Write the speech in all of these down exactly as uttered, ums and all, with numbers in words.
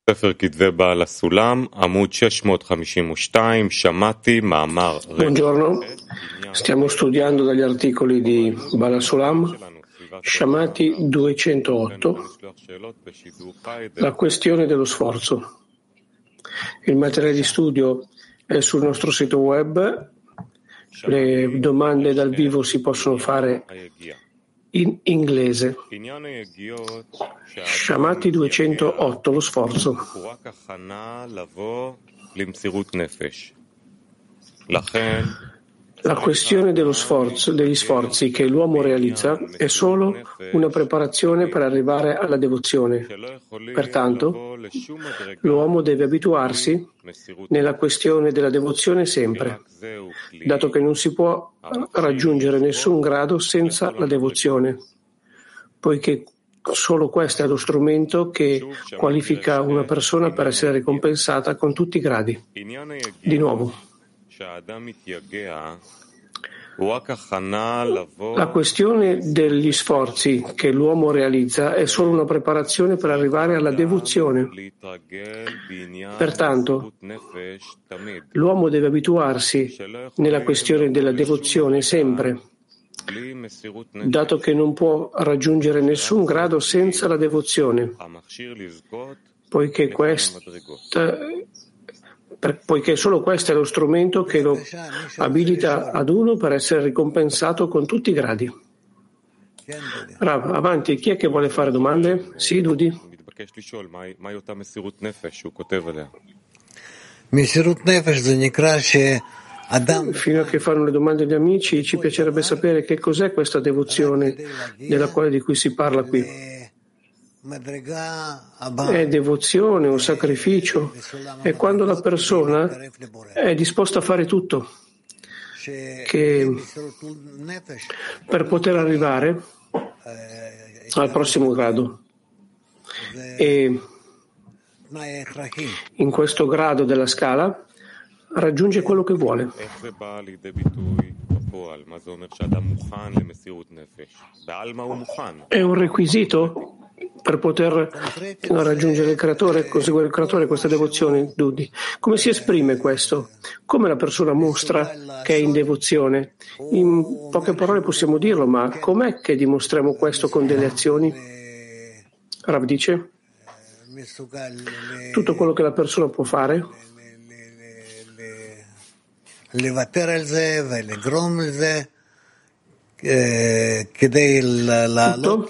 ספר כתבי בעל הסולם, עמוד שש מאות חמישים ושתיים, שמעתי מאמר. Buongiorno, stiamo studiando dagli articoli di Bala Sulam, Shamati duecentootto, la questione dello sforzo. Il materiale di studio è sul nostro sito web, le domande dal vivo si possono fare in inglese. Shamati duecentootto, lo sforzo. La questione dello sforzo, degli sforzi che l'uomo realizza è solo una preparazione per arrivare alla devozione. Pertanto, l'uomo deve abituarsi nella questione della devozione sempre, dato che non si può raggiungere nessun grado senza la devozione, poiché solo questo è lo strumento che qualifica una persona per essere ricompensata con tutti i gradi. Di nuovo, la questione degli sforzi che l'uomo realizza è solo una preparazione per arrivare alla devozione. Pertanto, l'uomo deve abituarsi nella questione della devozione sempre, dato che non può raggiungere nessun grado senza la devozione, poiché questa Per, poiché solo questo è lo strumento che lo abilita ad uno per essere ricompensato con tutti i gradi. Rav, avanti, chi è che vuole fare domande? Sì, Dudi. Fino a che fanno le domande gli amici, ci piacerebbe sapere che cos'è questa devozione della quale di cui si parla qui. È devozione o sacrificio, è quando la persona è disposta a fare tutto che per poter arrivare al prossimo grado. E in questo grado della scala raggiunge quello che vuole. È un requisito per poter raggiungere il creatore, conseguire il creatore, questa devozione, Dudi. Come si esprime questo? Come la persona mostra che è in devozione? In poche parole possiamo dirlo, ma com'è che dimostriamo questo con delle azioni? Rav dice, tutto quello che la persona può fare tutto,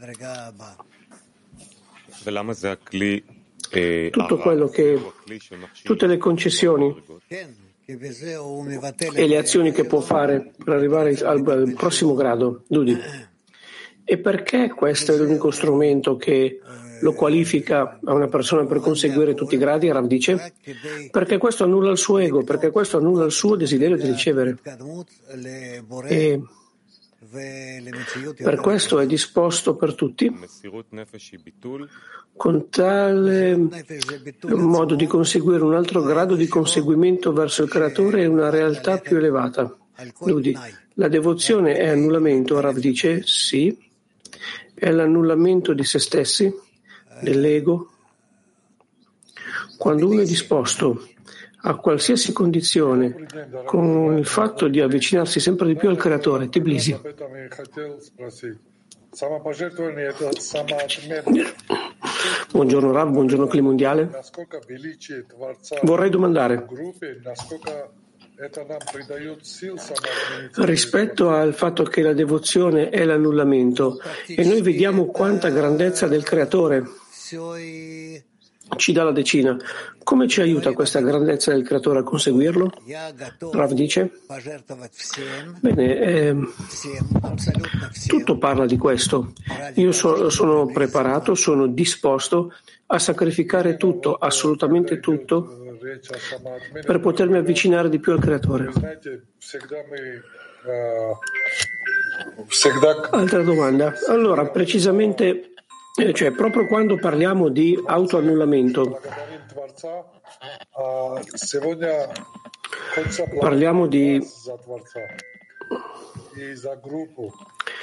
tutto quello che tutte le concessioni e le azioni che può fare per arrivare al, al prossimo grado, Dudi. E perché questo è l'unico strumento che lo qualifica a una persona per conseguire tutti i gradi? Rav dice, perché questo annulla il suo ego, perché questo annulla il suo desiderio di ricevere. E per questo è disposto per tutti, con tale modo di conseguire un altro grado di conseguimento verso il creatore e una realtà più elevata. Dudi, la devozione è annullamento, Rav dice, sì, è l'annullamento di se stessi, dell'ego. Quando uno è disposto a qualsiasi condizione con il fatto di avvicinarsi sempre di più al creatore, Tbilisi. Buongiorno Rav, buongiorno Cli Mondiale. Vorrei domandare, rispetto al fatto che la devozione è l'annullamento e noi vediamo quanta grandezza del creatore ci dà la decina, come ci aiuta questa grandezza del creatore a conseguirlo? Rav dice, bene, eh, tutto parla di questo. Io so, sono preparato, sono disposto a sacrificare tutto, assolutamente tutto, per potermi avvicinare di più al creatore. Altra domanda. Allora, precisamente, eh, cioè proprio quando parliamo di autoannullamento, parliamo di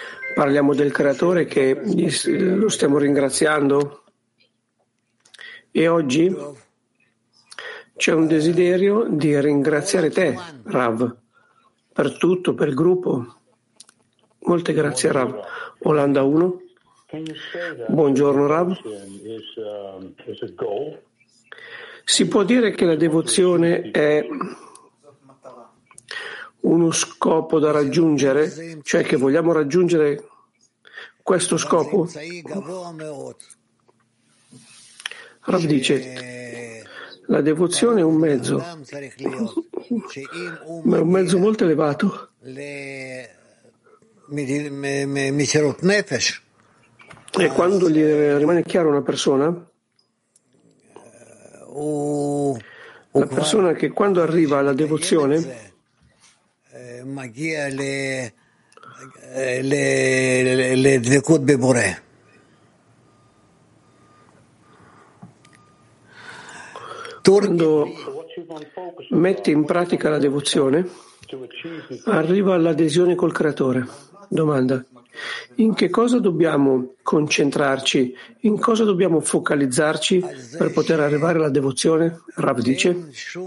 parliamo del creatore che lo stiamo ringraziando E oggi c'è un desiderio di ringraziare te, Rav, per tutto, per il gruppo. Molte grazie, Rav. Olanda uno. Buongiorno, Rav. Si può dire che la devozione è uno scopo da raggiungere, cioè che vogliamo raggiungere questo scopo? Rav dice, la devozione è un mezzo, ma è un mezzo molto elevato. E quando gli rimane chiaro a una persona, la persona che quando arriva alla devozione quando mette in pratica la devozione, arriva all'adesione col Creatore. Domanda: in che cosa dobbiamo concentrarci? In cosa dobbiamo focalizzarci per poter arrivare alla devozione? Rav dice: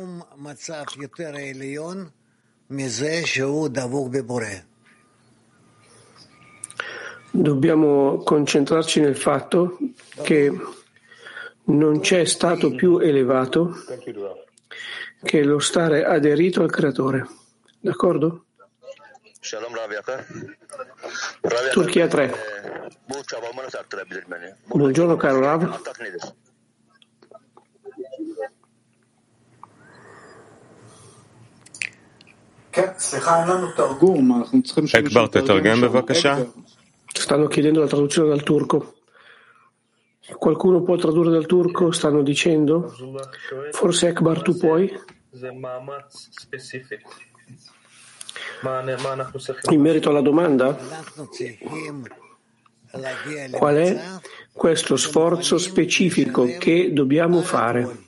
dobbiamo concentrarci nel fatto che non c'è stato più elevato che lo stare aderito al Creatore. D'accordo? Turchia tre. Buongiorno caro Rav. Ekbar, תתרגם בבקשה. Stanno chiedendo la traduzione dal turco. Qualcuno può tradurre dal turco? Stanno dicendo? Forse Ekbar tu puoi? In merito alla domanda, qual è questo sforzo specifico che dobbiamo fare?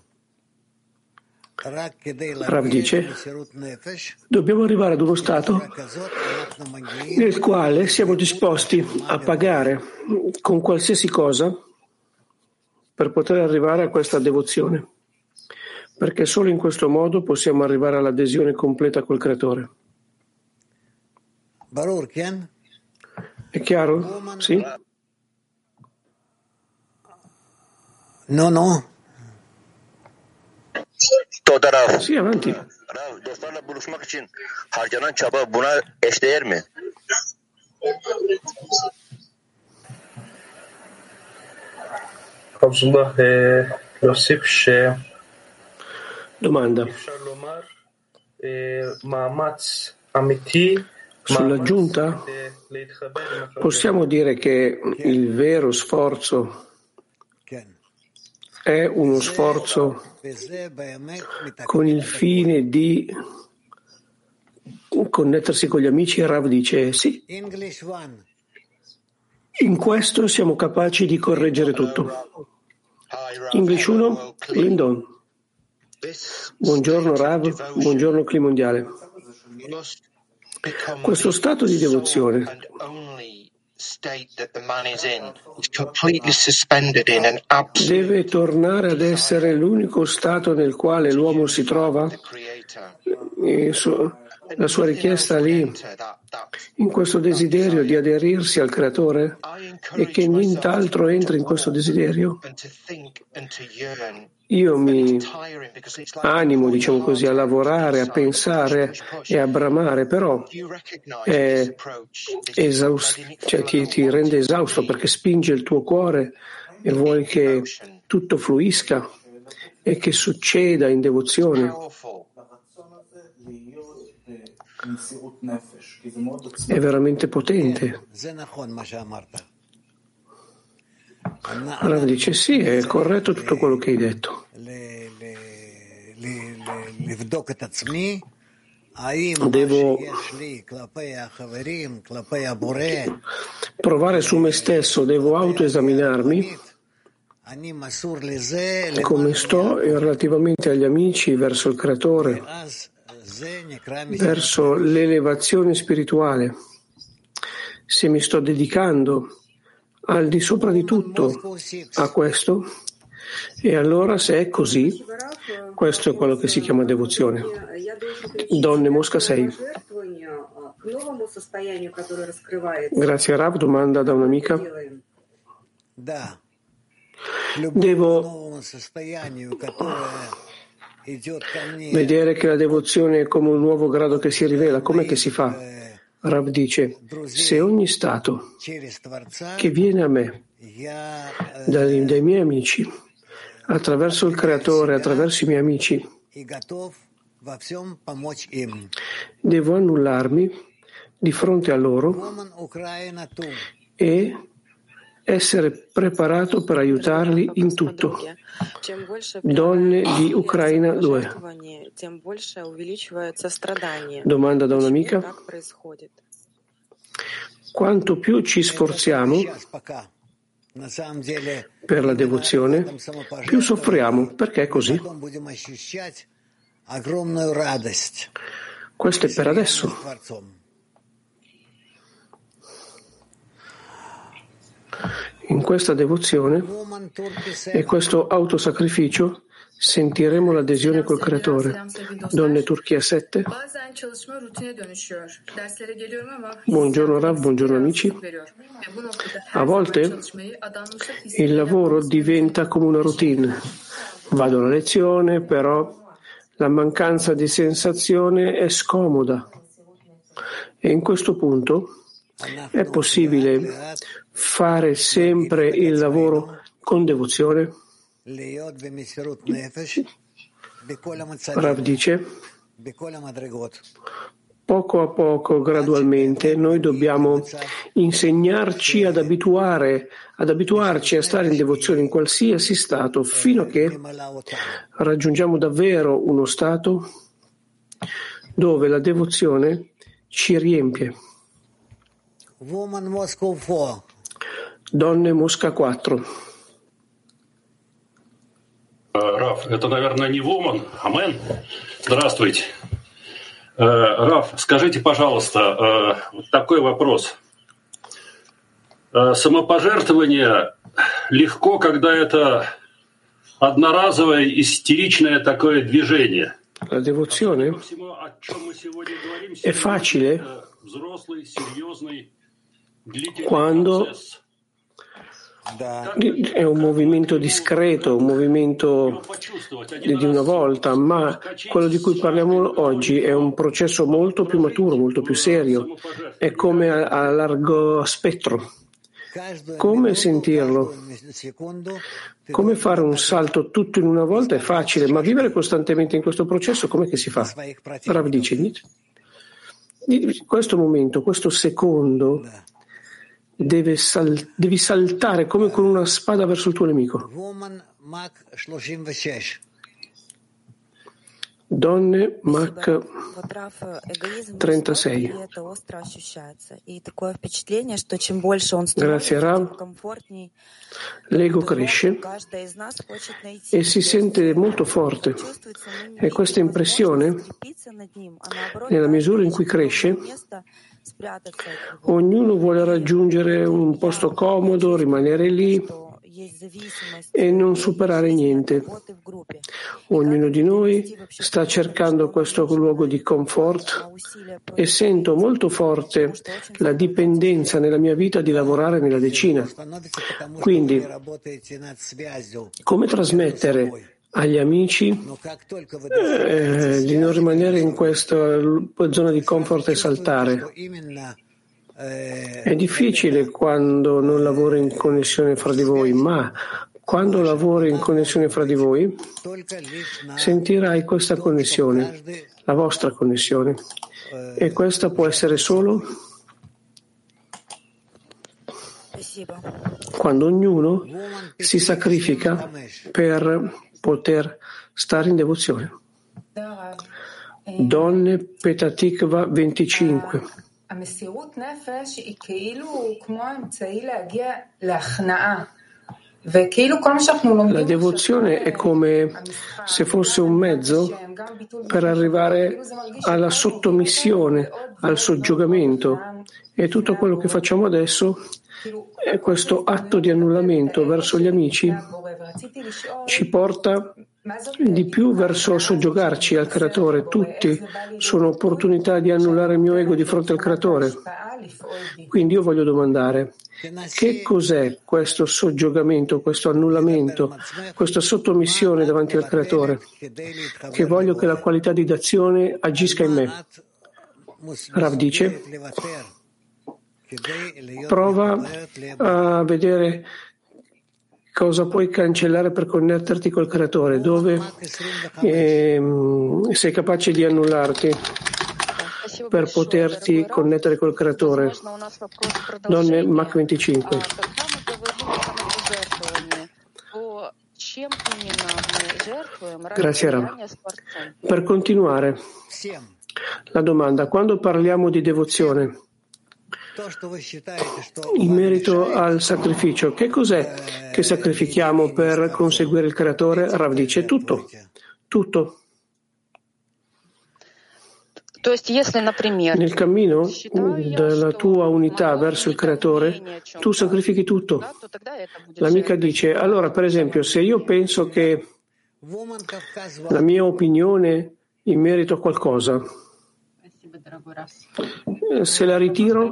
Rav dice, dobbiamo arrivare ad uno stato nel quale siamo disposti a pagare con qualsiasi cosa per poter arrivare a questa devozione, perché solo in questo modo possiamo arrivare all'adesione completa col Creatore. È chiaro? Sì? No, no. Sì, avanti. Dostlarla buluşmak için harcanan çaba buna eşdeğer mi? Abdullah, להוסיף Domanda. שאפשר לומר מאמץ אמיתי. Sull'aggiunta possiamo dire che il vero sforzo è uno sforzo con il fine di connettersi con gli amici. Rav dice sì. In questo siamo capaci di correggere tutto. English uno, Lindon. Buongiorno Rav, buongiorno Cli Mondiale. Questo stato di devozione deve tornare ad essere l'unico stato nel quale l'uomo si trova? E so, la sua richiesta lì, in questo desiderio di aderirsi al Creatore, e che nient'altro entri in questo desiderio? Io mi animo, diciamo così, a lavorare, a pensare e a bramare, però è esaust- cioè ti, ti rende esausto perché spinge il tuo cuore e vuoi che tutto fluisca e che succeda in devozione. È veramente potente. Rav dice sì, è corretto tutto quello che hai detto. Devo provare su me stesso, devo autoesaminarmi come sto e relativamente agli amici, verso il Creatore, verso l'elevazione spirituale. Se mi sto dedicando al di sopra di tutto a questo, E allora, se è così, questo è quello che si chiama devozione. Donne Mosca sei. Grazie a Rav, domanda da un'amica. Devo vedere che la devozione è come un nuovo grado che si rivela. Com'è che si fa? Rav dice, se ogni stato che viene a me dai, dai miei amici, attraverso il Creatore, attraverso i miei amici, devo annullarmi di fronte a loro e essere preparato per aiutarli in tutto. Donne di Ucraina due. Domanda da un'amica. Quanto più ci sforziamo per la devozione, più soffriamo. Perché è così? Questo è per adesso. In questa devozione e questo autosacrificio sentiremo l'adesione col Creatore. Donne Turchia sette. Buongiorno Rav, buongiorno amici. A volte il lavoro diventa come una routine. Vado alla lezione, però la mancanza di sensazione è scomoda. E in questo punto è possibile fare sempre il lavoro con devozione? Rav dice, poco a poco, gradualmente, noi dobbiamo insegnarci ad abituare, ad abituarci a stare in devozione in qualsiasi stato, fino a che raggiungiamo davvero uno stato dove la devozione ci riempie. Donne Mosca quattro. Раф, это, наверное, не Woman, Амен. Здравствуйте. Раф, скажите, пожалуйста, вот такой вопрос. Самопожертвование легко, когда это одноразовое истеричное такое движение. La devozione è facile quando è un movimento discreto, un movimento di una volta, ma quello di cui parliamo oggi è un processo molto più maturo, molto più serio, è come a, a largo spettro. Come sentirlo? Come fare un salto tutto in una volta è facile, ma vivere costantemente in questo processo com'è che si fa? Rav dice, questo momento, questo secondo Deve sal- devi saltare come con una spada verso il tuo nemico. Donne Mach trentasei. Grazie Rav. L'ego cresce e si sente molto forte. E questa impressione, nella misura in cui cresce, ognuno vuole raggiungere un posto comodo, rimanere lì e non superare niente. Ognuno di noi sta cercando questo luogo di comfort e sento molto forte la dipendenza nella mia vita di lavorare nella decina. Quindi, come trasmettere agli amici eh, di non rimanere in questa zona di comfort e saltare? È difficile quando non lavori in connessione fra di voi, ma quando lavori in connessione fra di voi sentirai questa connessione, la vostra connessione, e questa può essere solo quando ognuno si sacrifica per poter stare in devozione. Donne Petatikva venticinque. La devozione è come se fosse un mezzo per arrivare alla sottomissione, al soggiogamento, e tutto quello che facciamo adesso è questo atto di annullamento verso gli amici ci porta di più verso soggiogarci al Creatore. Tutti sono opportunità di annullare il mio ego di fronte al Creatore. Quindi io voglio domandare, che cos'è questo soggiogamento, questo annullamento, questa sottomissione davanti al Creatore? Che voglio che la qualità di d'azione agisca in me. Rav dice, prova a vedere cosa puoi cancellare per connetterti col Creatore, dove eh, sei capace di annullarti per poterti connettere col Creatore. Donne Mach venticinque. Grazie Rav. Per continuare, la domanda, quando parliamo di devozione in merito al sacrificio, che cos'è che sacrifichiamo per conseguire il Creatore? Rav dice tutto, tutto. Nel cammino della tua unità verso il Creatore, tu sacrifichi tutto. L'amica dice, allora per esempio, se io penso che la mia opinione in merito a qualcosa, se la ritiro,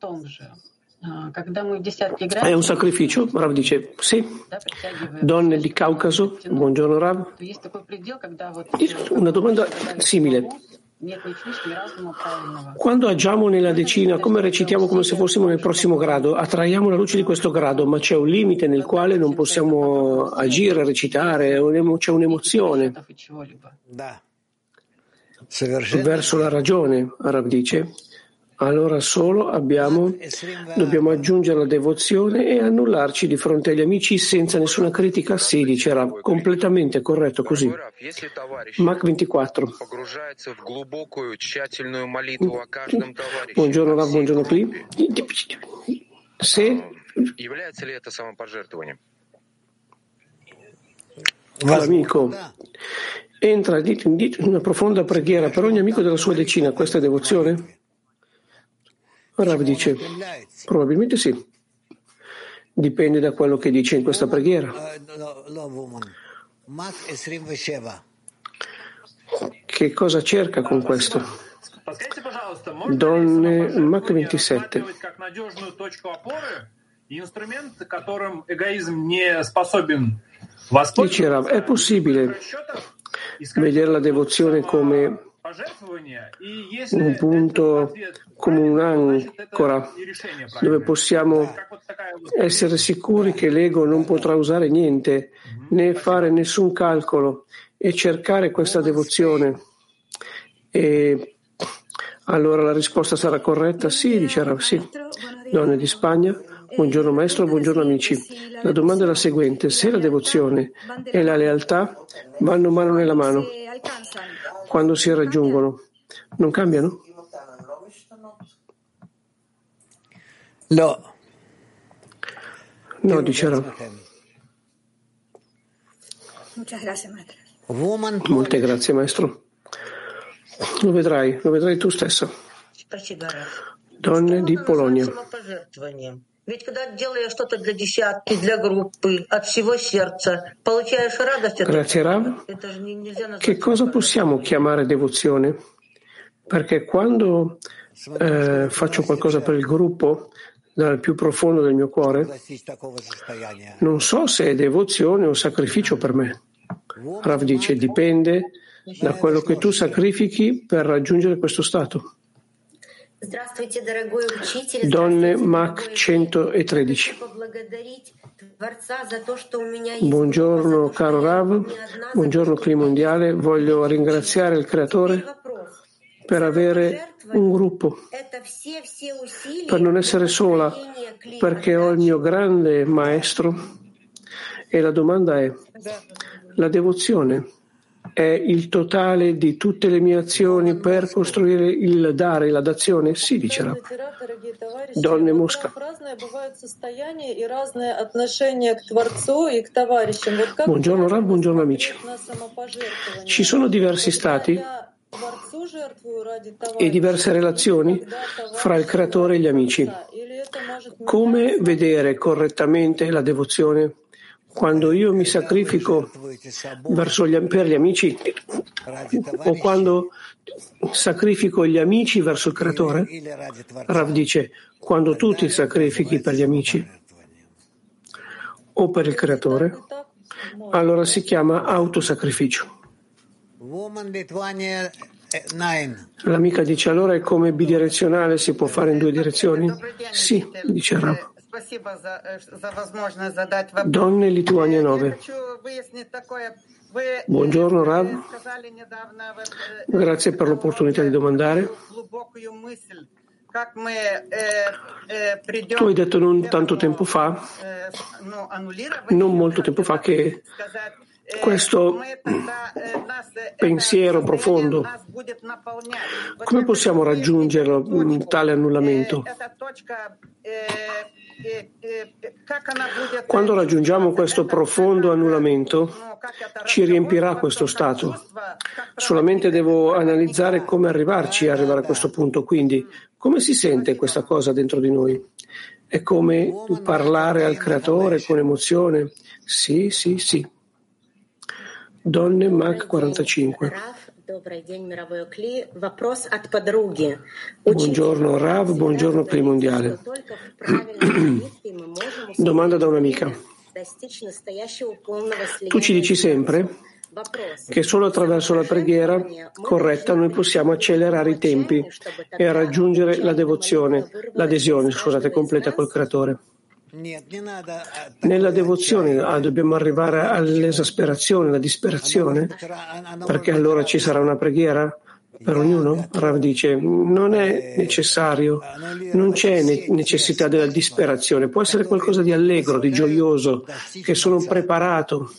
è un sacrificio? Rav dice sì. Donne di Caucaso, buongiorno Rav. Una domanda simile. Quando agiamo nella decina, come recitiamo come se fossimo nel prossimo grado, attraiamo la luce di questo grado, ma c'è un limite nel quale non possiamo agire, recitare, c'è un'emozione verso la ragione, Rav dice. Allora solo abbiamo, dobbiamo aggiungere la devozione e annullarci di fronte agli amici senza nessuna critica. Sì, dice Rav, completamente corretto così. Mach ventiquattro. Buongiorno Rav, buongiorno Cli. Se l'amico entra in una profonda preghiera per ogni amico della sua decina, questa è devozione? Rav dice, probabilmente sì. Dipende da quello che dice in questa preghiera. Che cosa cerca con questo? Donne Mach ventisette. Dice Rav, è possibile vedere la devozione come un punto, come un'ancora dove possiamo essere sicuri che l'ego non potrà usare niente né fare nessun calcolo e cercare questa devozione. E allora la risposta sarà corretta? Sì, dice Rav, sì. Donne di Spagna, buongiorno maestro, buongiorno amici. La domanda è la seguente: se la devozione e la lealtà vanno mano nella mano, quando si raggiungono, non cambiano? No. No, dice Rav. Molte grazie, maestro. Lo vedrai, lo vedrai tu stessa. Donne di Polonia. Grazie Rav. Che cosa possiamo chiamare devozione? Perché quando eh, faccio qualcosa per il gruppo, dal più profondo del mio cuore, non so se è devozione o sacrificio per me. Rav dice, dipende da quello che tu sacrifichi per raggiungere questo stato. Donne Mach centotredici. Buongiorno caro Rav, buongiorno Cli Mondiale, voglio ringraziare il Creatore per avere un gruppo, per non essere sola, perché ho il mio grande maestro. E la domanda è, la devozione è il totale di tutte le mie azioni per costruire il dare, la dazione? Sì, dice Rav. Donne Mosca. Buongiorno Rav, buongiorno amici. Ci sono diversi stati e diverse relazioni fra il Creatore e gli amici. Come vedere correttamente la devozione quando io mi sacrifico verso gli, per gli amici o quando sacrifico gli amici verso il Creatore? Rav dice, quando tu ti sacrifichi per gli amici o per il Creatore, allora si chiama autosacrificio. L'amica dice, allora è come bidirezionale, si può fare in due direzioni? Sì, dice Rav. Donne Lituania nove. Buongiorno Rav, grazie per l'opportunità di domandare. Tu hai detto non tanto tempo fa, non molto tempo fa, che questo pensiero profondo, come possiamo raggiungerlo, tale annullamento? Quando raggiungiamo questo profondo annullamento, ci riempirà questo stato. Solamente devo analizzare come arrivarci a arrivare a questo punto. Quindi, come si sente questa cosa dentro di noi? È come parlare al Creatore con emozione? Sì, sì, sì. Donne Mac quarantacinque. Buongiorno Rav, buongiorno Cli Mondiale. Domanda da un'amica. Tu ci dici sempre che solo attraverso la preghiera corretta noi possiamo accelerare i tempi e raggiungere la devozione, l'adesione, scusate, completa col Creatore. Nella devozione ah, dobbiamo arrivare all'esasperazione, alla disperazione, perché allora ci sarà una preghiera per ognuno? Rav dice, non è necessario, non c'è necessità della disperazione, può essere qualcosa di allegro, di gioioso, che sono preparato.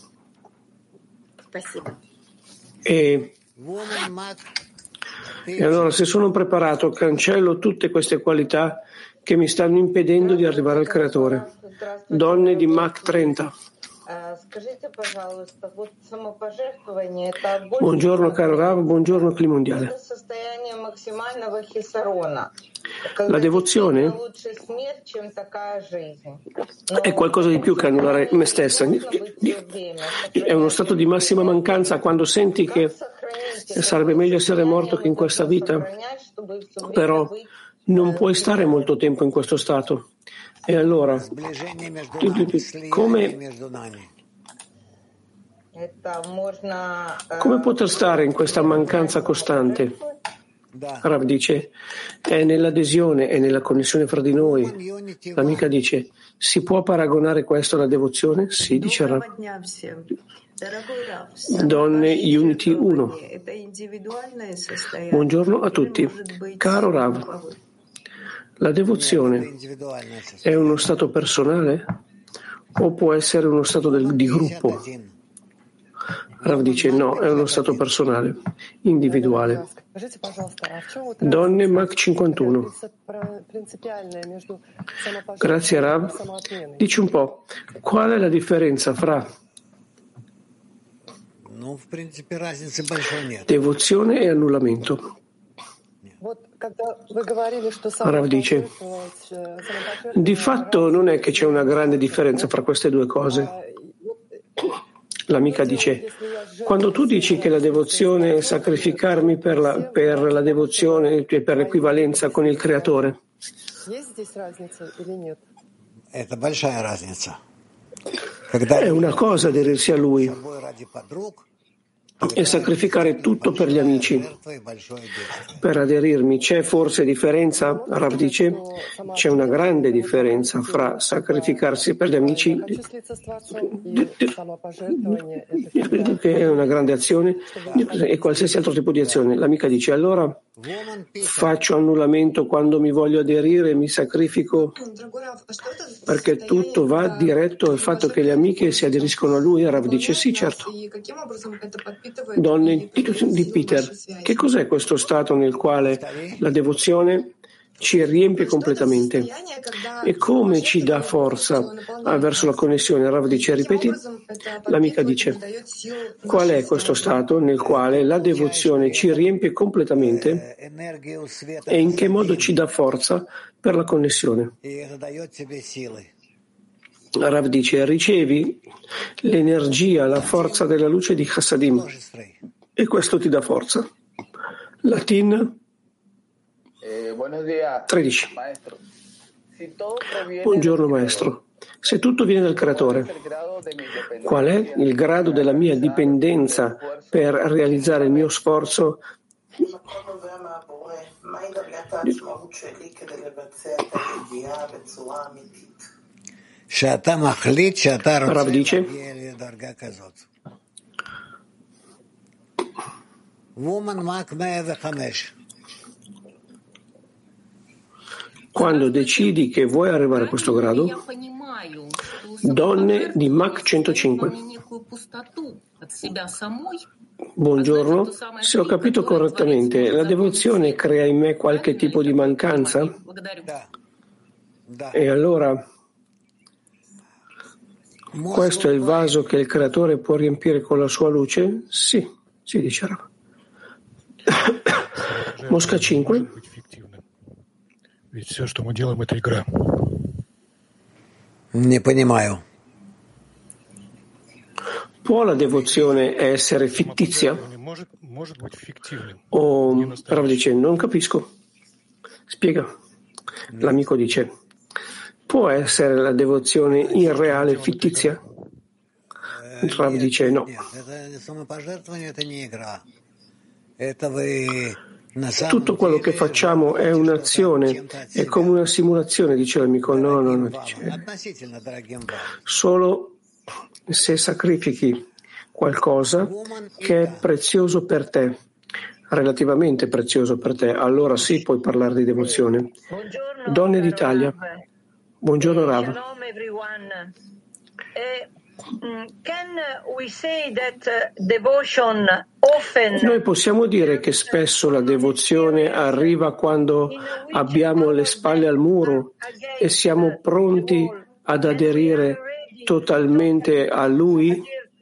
E, e allora se sono preparato cancello tutte queste qualità che mi stanno impedendo di arrivare al Creatore. Donne di Mach trenta. Buongiorno caro Rav, buongiorno Cli Mondiale. La devozione è qualcosa di più che annullare me stessa. È uno stato di massima mancanza quando senti che sarebbe meglio essere morto che in questa vita, però non puoi stare molto tempo in questo stato. E allora, come, come poter stare in questa mancanza costante? Rav dice, è nell'adesione, è nella connessione fra di noi. L'amica dice, si può paragonare questo alla devozione? Sì, dice Rav. Donne Unity uno. Buongiorno a tutti. Caro Rav, la devozione è uno stato personale o può essere uno stato del, di gruppo? Rav dice no, è uno stato personale, individuale. Donne Mach cinquantuno. Grazie Rav. Dici un po', qual è la differenza fra devozione e annullamento? Rav dice, di fatto non è che c'è una grande differenza fra queste due cose. L'amica dice, quando tu dici che la devozione è sacrificarmi per la, per la devozione e per l'equivalenza con il Creatore, è una cosa aderirsi a Lui e sacrificare tutto per gli amici. Per aderirmi c'è forse differenza? Rav dice, c'è una grande differenza fra sacrificarsi per gli amici, che è una grande azione, e qualsiasi altro tipo di azione. L'amica dice, allora faccio annullamento quando mi voglio aderire e mi sacrifico perché tutto va diretto al fatto che le amiche si aderiscono a lui? Rav dice, sì, certo. Donne di Peter, che cos'è questo stato nel quale la devozione ci riempie completamente e come ci dà forza verso la connessione? Rav dice, ripeti? L'amica dice, qual è questo stato nel quale la devozione ci riempie completamente e in che modo ci dà forza per la connessione? Rav dice, ricevi l'energia, la forza della luce di Chassadim e questo ti dà forza. Latin tredici. Buongiorno maestro. Se tutto viene dal creatore, qual è il grado della mia dipendenza per realizzare il mio sforzo? Rav dice, quando decidi che vuoi arrivare a questo grado, donne di Mach centocinque. Buongiorno, se ho capito correttamente, la devozione crea in me qualche tipo di mancanza? E allora questo è il vaso che il creatore può riempire con la sua luce? Sì, si dice Rav. Mosca cinque. Не понимаю. Può la devozione essere fittizia? O Rav dice, non capisco. Spiega. L'amico dice, può essere la devozione irreale fittizia? Rav dice no. Tutto quello che facciamo è un'azione, è come una simulazione, dice l'amico. No, no, no, dice. Solo se sacrifichi qualcosa che è prezioso per te, relativamente prezioso per te, allora sì puoi parlare di devozione. Buongiorno, Donne d'Italia. Rav. Buongiorno Rav. Shalom everyone. Eh, Can we say that devotion often... Noi possiamo dire che spesso la devozione arriva quando abbiamo le spalle al muro e siamo pronti ad aderire totalmente a Lui?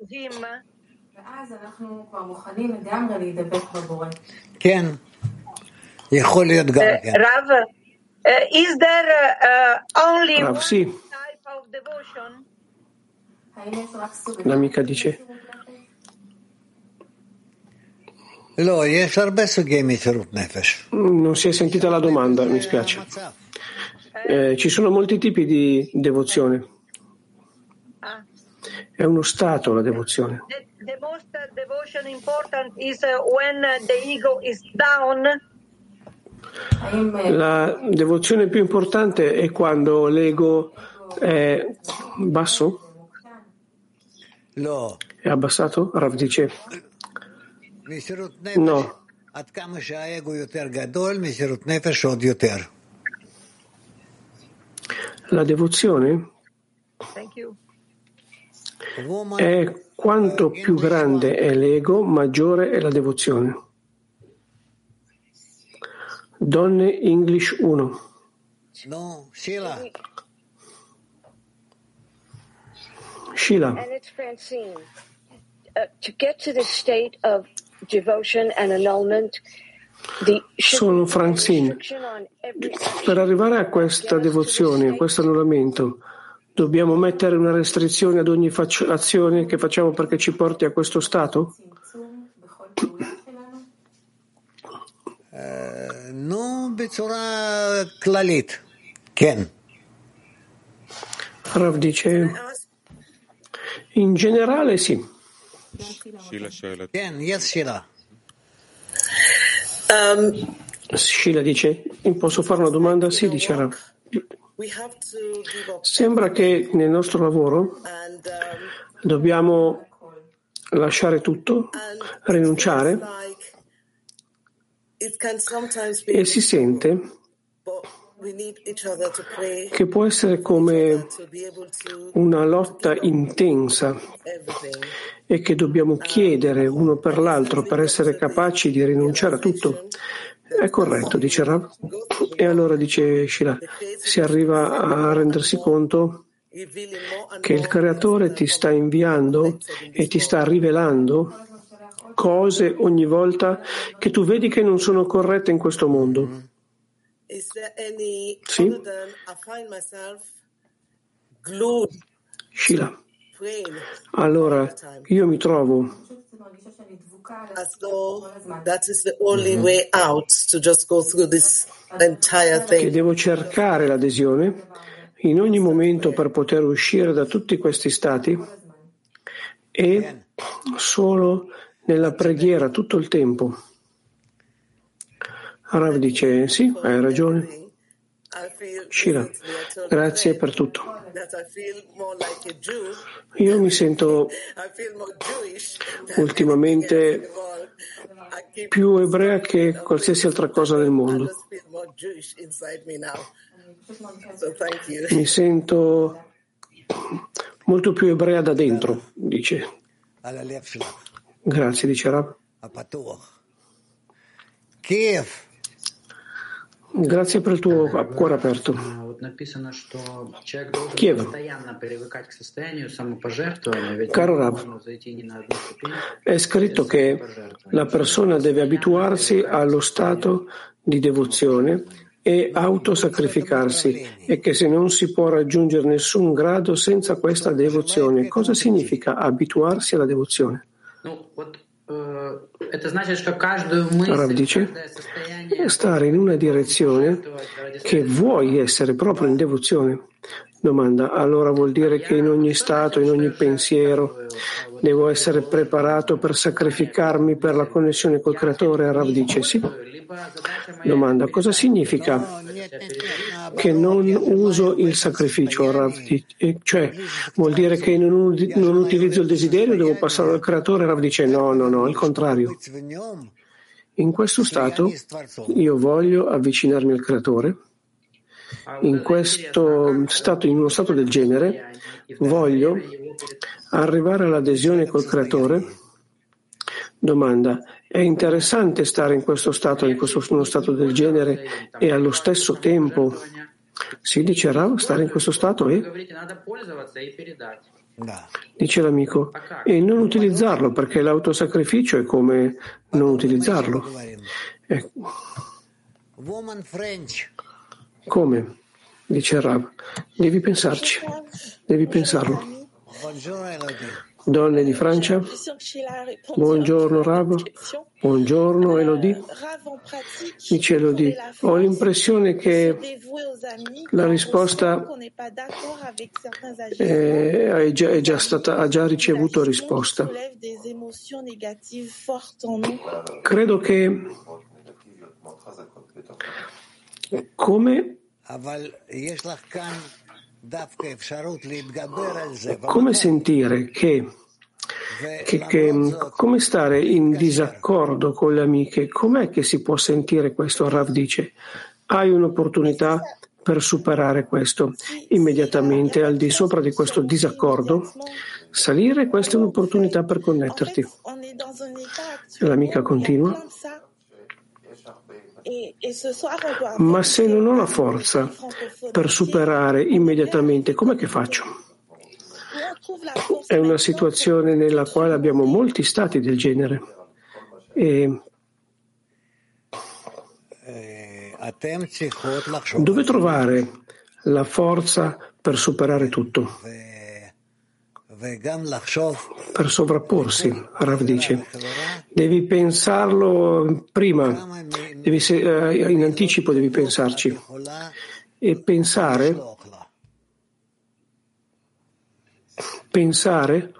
כן, יכול להיות גם כן. Rav, uh, is there uh, only Rav, one sì. type of devotion? L'amica dice, לא, יש הרבה סוגי מסירות נפש. non si è sentita la domanda, mi spiace. Eh, ci sono molti tipi di devozione. Ah. È uno stato la devozione. The, the most uh, devotion important is uh, when uh, the ego is down. La devozione più importante è quando l'ego è basso? לא. È abbassato? Rav dice, מסירות נפש, no. עד כמה שהאגו יותר גדול, מסירות נפש עוד יותר. La devozione Thank you. è quanto più grande è l'ego, maggiore è la devozione. Donne English uno. No, Sheila. Sheila. And it's Francine. Uh, to get to the state of devotion and annulment, the Sono Francine. Per arrivare a questa devozione, a questo annullamento, dobbiamo mettere una restrizione ad ogni fac- azione che facciamo perché ci porti a questo stato? נו, בצורה כללית, כן. Rav dice, in generale sì. כן, יש שאלה. Um, Sheila dice, posso fare una domanda? Sì, dice Rav. we have to give up Sembra che nel nostro lavoro and um, dobbiamo lasciare tutto, and rinunciare, like it can sometimes be, e si sente but we need each other to pray che può essere come to be able to una lotta intensa everything. e che dobbiamo chiedere uno per l'altro per essere capaci di rinunciare a tutto. È corretto, dice Rav. E allora dice Sheila, si arriva a rendersi conto che il creatore ti sta inviando e ti sta rivelando cose ogni volta che tu vedi che non sono corrette in questo mondo. Is there any Sì. other than I find myself glued Shila. Allora io mi trovo as though that is the only way out to just go through this entire thing. che devo cercare l'adesione in ogni momento per poter uscire da tutti questi stati e solo nella preghiera tutto il tempo. Rav dice sì, hai ragione. Shira, grazie per tutto. Io mi sento ultimamente più ebrea che qualsiasi altra cosa del mondo. Mi sento molto più ebrea da dentro, dice. Grazie, dice Rav. Kiev. Grazie per il tuo cuore aperto. Kiev. Caro Rav, è scritto che la persona deve abituarsi allo stato di devozione e autosacrificarsi e che se non si può raggiungere nessun grado senza questa devozione. Cosa significa abituarsi alla devozione? Rav dice stare in una direzione che vuoi essere proprio in devozione. Domanda, allora vuol dire che in ogni stato, in ogni pensiero devo essere preparato per sacrificarmi per la connessione col Creatore? Rav dice sì. Domanda, cosa significa che non uso il sacrificio? Rav dice, cioè vuol dire che non, non utilizzo il desiderio, devo passare al Creatore? Rav dice no, no, no, al contrario. In questo stato io voglio avvicinarmi al Creatore. In questo stato, in uno stato del genere, voglio arrivare all'adesione col Creatore. Domanda, è interessante stare in questo stato, in questo uno stato del genere e allo stesso tempo si dice stare in questo stato e dice l'amico e non utilizzarlo perché l'autosacrificio è come non utilizzarlo. Eh. Come? Dice Rav. Devi pensarci, devi pensarlo. Donne di Francia, buongiorno Rav, buongiorno Elodie. Dice Elodie, ho l'impressione che la risposta è, è, già, è già stata, ha già ricevuto risposta. Credo che come Come sentire che, che, che come stare in disaccordo con le amiche? Com'è che si può sentire questo? Rav dice, hai un'opportunità per superare questo. Immediatamente al di sopra di questo disaccordo, salire, questa è un'opportunità per connetterti. L'amica continua. Ma se non ho la forza per superare immediatamente, com'è che faccio? È una situazione nella quale abbiamo molti stati del genere. E dove trovare la forza per superare tutto? Per sovrapporsi, Rav dice. Devi pensarlo prima, devi se, eh, in anticipo devi pensarci. E pensare, pensare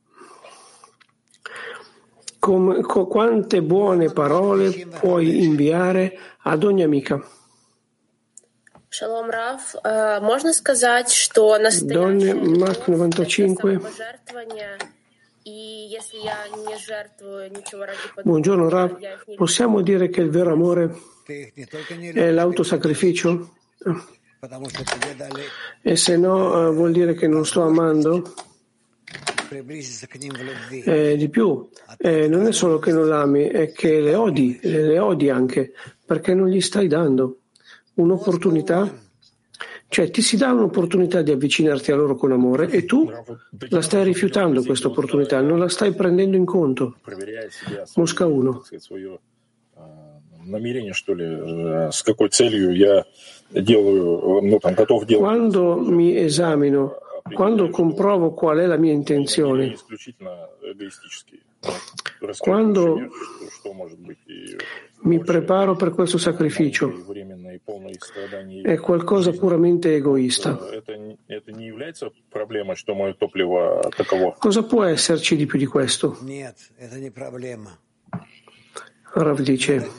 com, co, quante buone parole puoi inviare ad ogni amica. Shalom Rav, uh, можно сказать, что Donne Mark novantacinque. Buongiorno Rav, possiamo dire che il vero amore è l'autosacrificio? E se no uh, vuol dire che non sto amando? Eh, di più, eh, non è solo che non l'ami, è che le odi, le odi anche, perché non gli stai dando un'opportunità, cioè ti si dà un'opportunità di avvicinarti a loro con amore e tu la stai rifiutando questa opportunità, non la stai prendendo in conto. Mosca uno. Quando mi esamino Quando comprovo qual è la mia intenzione, quando mi preparo per questo sacrificio, è qualcosa puramente egoista. Cosa può esserci di più di questo? Rav dice,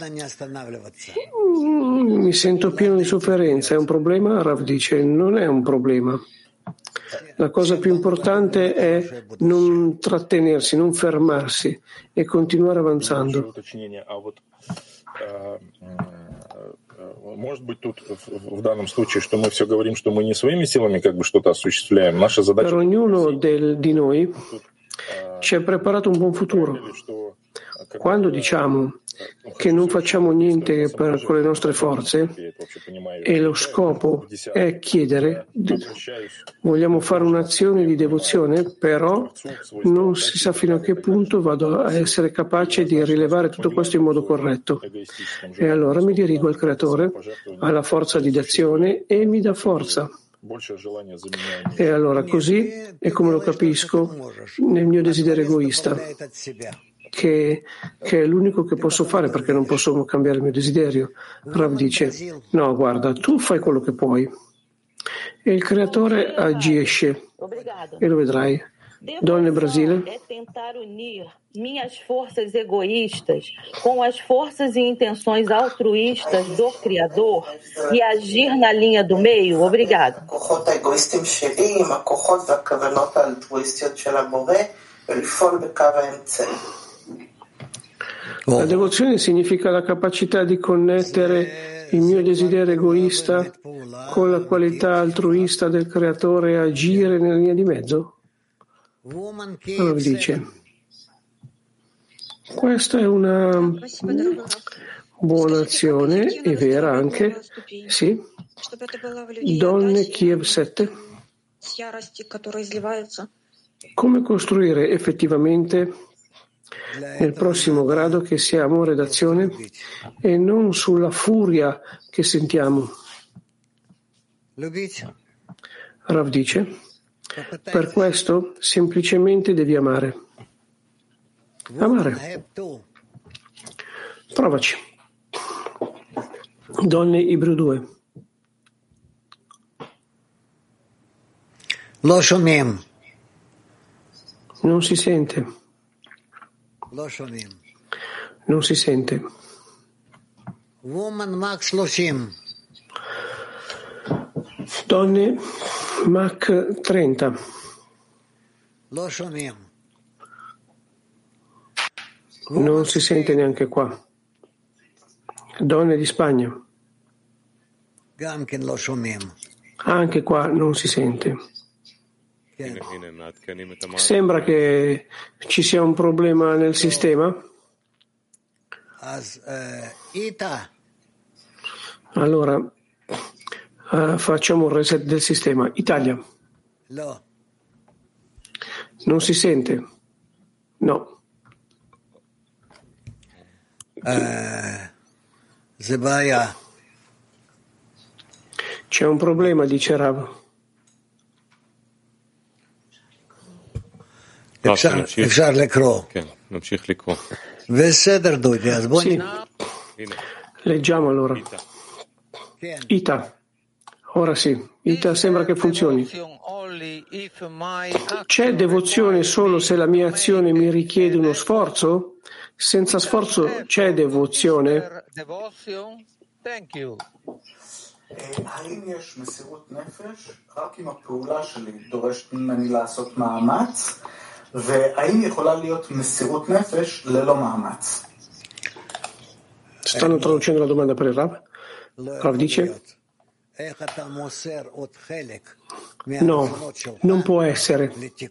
mi sento pieno di sofferenza, è un problema? Rav dice, non è un problema. La cosa più importante è non trattenersi, non fermarsi e continuare avanzando. Per ognuno del, di noi ci è preparato un buon futuro. Quando diciamo che non facciamo niente per, con le nostre forze e lo scopo è chiedere, vogliamo fare un'azione di devozione, però non si sa fino a che punto vado a essere capace di rilevare tutto questo in modo corretto. E allora mi dirigo al Creatore, alla forza di d'azione e mi dà forza. E allora così è come lo capisco nel mio desiderio egoista. Che, che è l'unico che posso fare perché non posso cambiare il mio desiderio. Rav dice, no, guarda, tu fai quello che puoi e il Creatore agisce e lo vedrai. Donne Brasile. É tentar unir minhas forças egoístas com as forças e intenções altruístas do Criador e agir na linha do meio. Obrigada. La devozione significa la capacità di connettere il mio desiderio egoista con la qualità altruista del Creatore e agire nella linea di mezzo? Allora dice, questa è una buona azione e vera anche, sì. Donne Kiev sette. Come costruire effettivamente nel prossimo grado che sia amore d'azione e non sulla furia che sentiamo? Rav dice, per questo semplicemente devi amare. Amare. Provaci. Donne Ibru due. Lo shomim. Non si sente. Lo shomim. Non si sente. Woman Max Loshim. Donne Mach trenta. Lo shomim. Non si sente neanche qua. Donne di Spagna. Gamken lo shomim. Anche qua non si sente. Sembra che ci sia un problema nel sistema. Allora uh, facciamo un reset del sistema. Italia. Non si sente. No. C'è un problema, dice Rav. אפשר לקרוא. כן, נמשיך לקרוא. בסדר דודי, אז בוא Sì. Leggiamo allora. Ita. Ora sì. Ita sembra che funzioni. C'è devozione solo se la mia azione mi richiede uno sforzo? Senza sforzo c'è devozione? האם יש מסירות נפש רק אם הפעולה שלי דורשת ממני לעשות מאמץ, והאם יכולה להיות מסירות נפש ללא מאמץ? Stanno traducendo la domanda per il Rav. Rav dice: no, non può essere.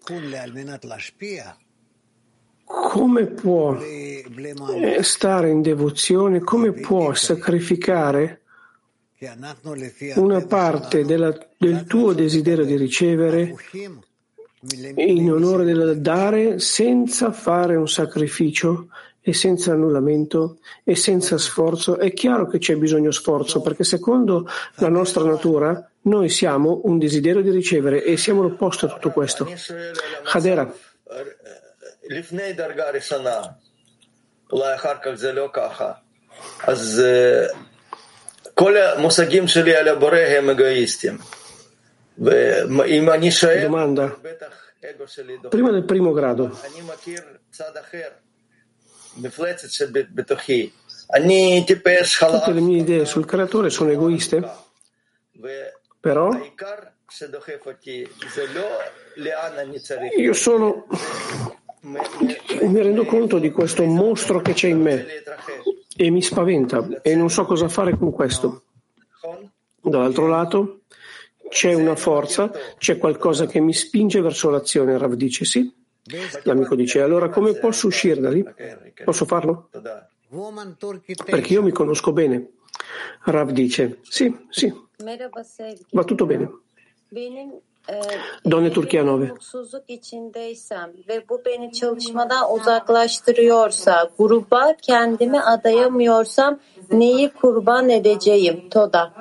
Come può stare in devozione? Come può sacrificare una parte della, del tuo desiderio di ricevere in onore del dare senza fare un sacrificio e senza annullamento e senza sforzo? È chiaro che c'è bisogno sforzo, perché secondo la nostra natura Noi siamo un desiderio di ricevere e siamo l'opposto a tutto questo. Hadera. לפני דרגה ראשונה, אולי אחר כך זה לא ככה, אז כל המושגים שלי על הבורא הם אגואיסטים. ואם אני שואל, בטח אגו שלי דוחה. Prima del primo grado. אני מכיר צד אחר, מפלצת שבתוכי. אני טיפש חלש. Tutte le mie idee sul creatore sono egoiste, però העיקר שדוחף אותי זה לא לאן אני צריך. io sono mi rendo conto di questo mostro che c'è in me e mi spaventa e non so cosa fare con questo. Dall'altro lato c'è una forza, c'è qualcosa che mi spinge verso l'azione. Rav dice sì. L'amico dice allora come posso uscire da lì? Posso farlo? Perché io mi conosco bene. Rav dice sì, sì, va tutto bene. Donne Turchia nove. Mutsuzluk içindeysem ve bu beni çalışmadan uzaklaştırıyorsa, gruba kendimi adayamıyorsam neyi kurban edeceğim? Toda.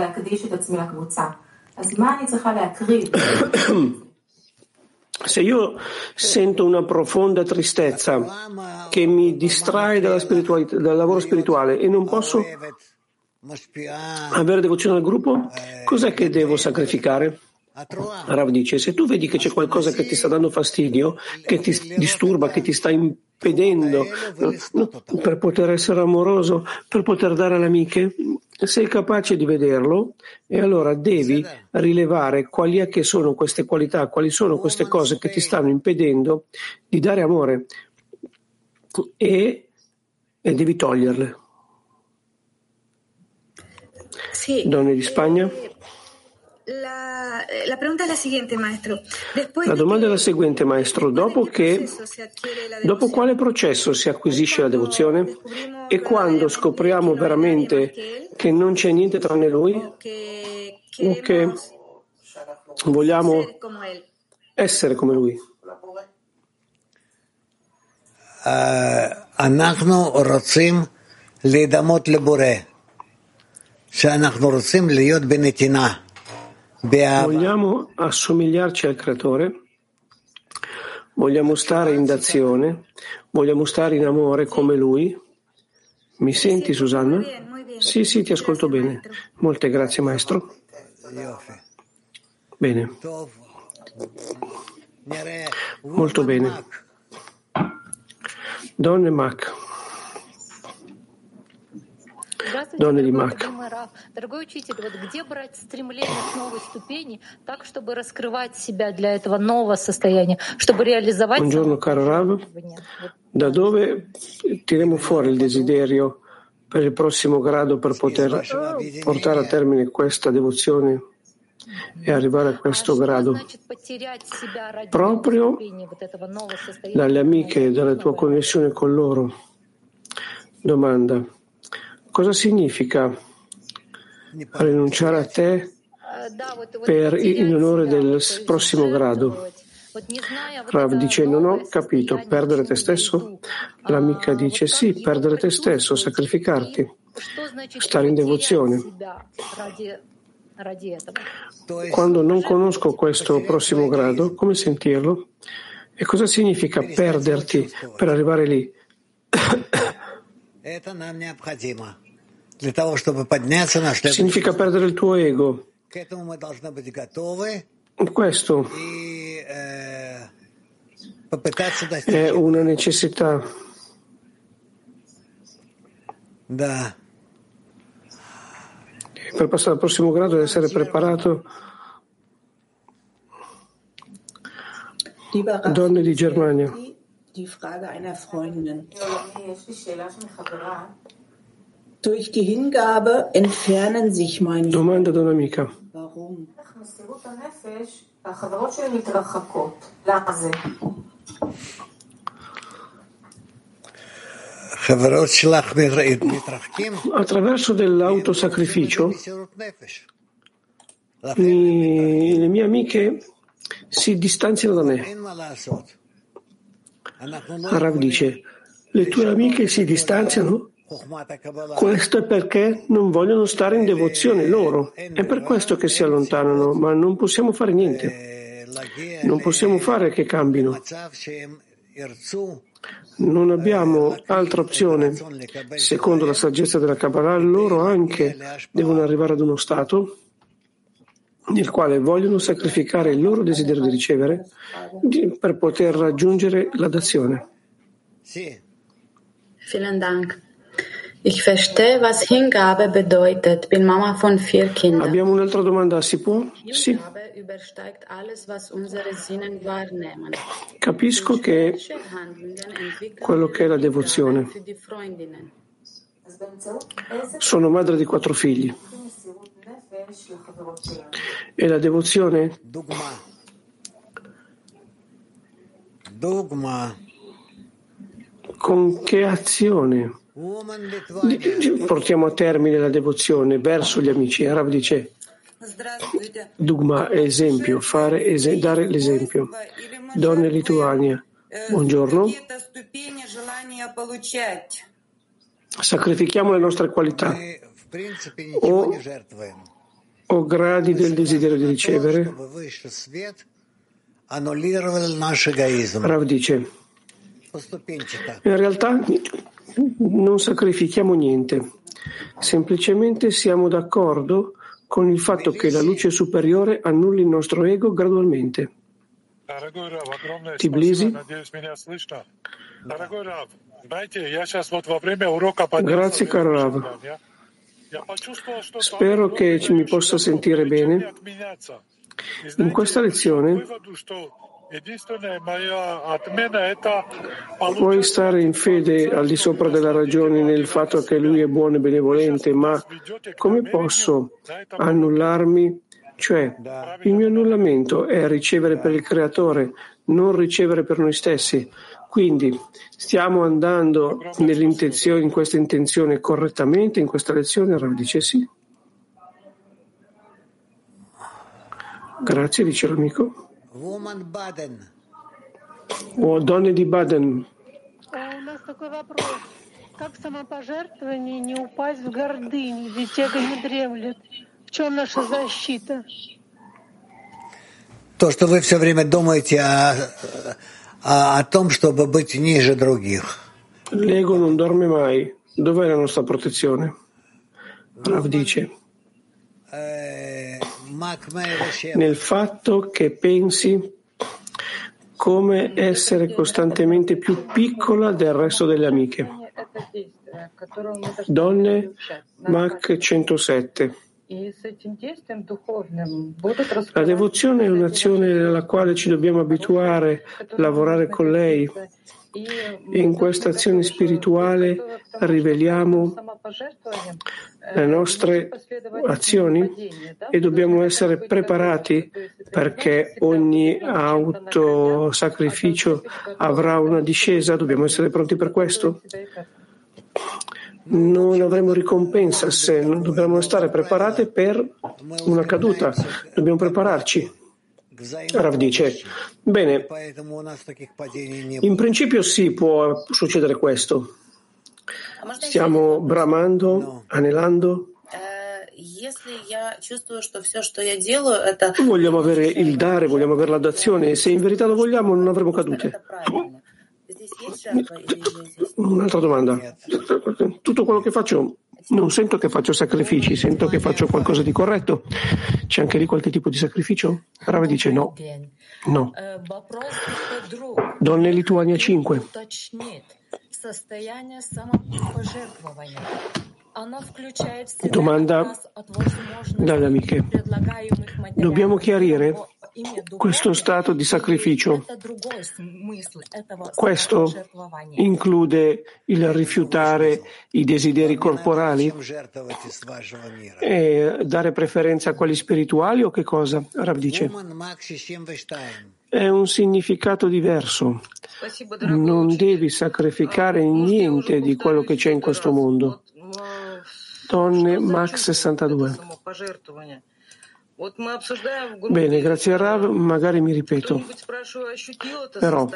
Se io sento una profonda tristezza che mi distrae dalla spiritualità, dal lavoro spirituale e non posso avere devozione al gruppo, cos'è che devo sacrificare? Rav dice, se tu vedi che c'è qualcosa che ti sta dando fastidio, che ti disturba, che ti sta impedendo no, per poter essere amoroso, per poter dare alle amiche, sei capace di vederlo e allora devi rilevare quali è che sono queste qualità, quali sono queste cose che ti stanno impedendo di dare amore e, e devi toglierle. Sì. Donne di Spagna. La, la pregunta è la siguiente, maestro. Después la domanda è la seguente, maestro. Dopo che, dopo quale processo si acquisisce la devozione? E quando scopriamo veramente che non c'è niente tranne Lui? O che vogliamo essere come Lui? אנחנו רוצים להידמות לבורא, שאנחנו רוצים להיות בנתינה. Vogliamo assomigliarci al creatore, vogliamo stare in d'azione, vogliamo stare in amore come lui. Mi senti, Susanna? Sì, sì, ti ascolto bene. Molte grazie, maestro. Bene. Molto bene. Donne Mac. Donne di Mac. Дорогой учитель, вот где брать стремление к новой ступени, так, чтобы раскрывать себя для этого нового состояния, чтобы реализовать... Buongiorno caro Rav, da dove tiriamo fuori il desiderio per il prossimo grado per poter portare a termine questa devozione e arrivare a questo grado? Proprio dalle amiche e dalla tua connessione con loro. Domanda. Cosa significa rinunciare a te per, in onore del prossimo grado? Rav dice non ho capito, perdere te stesso? L'amica dice sì, perdere te stesso, sacrificarti, stare in devozione. Quando non conosco questo prossimo grado, come sentirlo? E cosa significa perderti per arrivare lì? Significa perdere il tuo ego. Questo è una necessità. Per passare al prossimo grado deve essere preparato. Donne di Germania. Die Frage einer Freundin. Durch die Hingabe entfernen sich meine Domanda da un'amica. Warum? Attraverso dell'autosacrificio mi, le mie amiche si distanziano da me. Rav dice, le tue amiche si distanziano Questo è perché non vogliono stare in devozione loro. È per questo che si allontanano, ma non possiamo fare niente. Non possiamo fare che cambino. Non abbiamo altra opzione. Secondo la saggezza della Kabbalah, loro anche devono arrivare ad uno stato nel quale vogliono sacrificare il loro desiderio di ricevere per poter raggiungere la dazione. Vielen Dank. Ich verstehe, was Hingabe bedeutet. Bin Mama von vier Kindern. Abbiamo un'altra domanda, si può? Sì. Hingabe übersteigt alles, was unsere Sinnen wahrnehmen. Capisco che quello che è la devozione. Sono madre di quattro figli. E la devozione? Dogma. Con che azione portiamo a termine la devozione verso gli amici? Rav dice Dugma, esempio, fare es- dare l'esempio. Donne Lituania, buongiorno. Sacrifichiamo le nostre qualità o, o gradi del desiderio di ricevere? Rav dice in realtà non sacrifichiamo niente, semplicemente siamo d'accordo con il fatto che la luce superiore annulli il nostro ego gradualmente. Tbilisi. Grazie caro Rav. Spero che ci mi possa sentire bene. In questa lezione puoi stare in fede al di sopra della ragione nel fatto che lui è buono e benevolente, ma come posso annullarmi? Cioè, il mio annullamento è ricevere per il Creatore, non ricevere per noi stessi. Quindi stiamo andando nell'intenzione, in questa intenzione correttamente in questa lezione? Rav dice sì. Grazie, dice l'amico. Woman Baden. O donne di Baden. У нас такой вопрос. Как самопожертвование не упасть в гордыню, ведь эго не дремлет? В чем наша защита? То, что вы все время думаете о, о, о том, чтобы быть ниже других. L'ego non dorme mai. Dov'è la nostra protezione? Rav dice nel fatto che pensi come essere costantemente più piccola del resto delle amiche. Donne, Mach centosette. La devozione è un'azione nella quale ci dobbiamo abituare a lavorare con lei. E in questa azione spirituale riveliamo le nostre azioni e dobbiamo essere preparati perché ogni autosacrificio avrà una discesa, dobbiamo essere pronti per questo. Non avremo ricompensa se non dobbiamo stare preparati per una caduta, dobbiamo prepararci. Rav dice, bene, in principio sì, può succedere questo. Stiamo bramando, anelando. Vogliamo avere il dare, vogliamo avere la dazione, e se in verità lo vogliamo non avremo cadute. Un'altra domanda. Tutto quello che faccio, non sento che faccio sacrifici, sento che faccio qualcosa di corretto. C'è anche lì qualche tipo di sacrificio? Rav dice no. No. Donne Lituania cinque. Domanda dalle amiche. Dobbiamo chiarire questo stato di sacrificio. Questo include il rifiutare i desideri corporali e dare preferenza a quelli spirituali o che cosa? Rav dice è un significato diverso. Non devi sacrificare niente di quello che c'è in questo mondo. Donne Max sessantadue. Bene, grazie a Rav, magari mi ripeto. Però,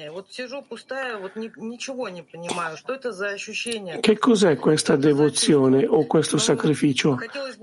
che cos'è questa devozione o questo sacrificio?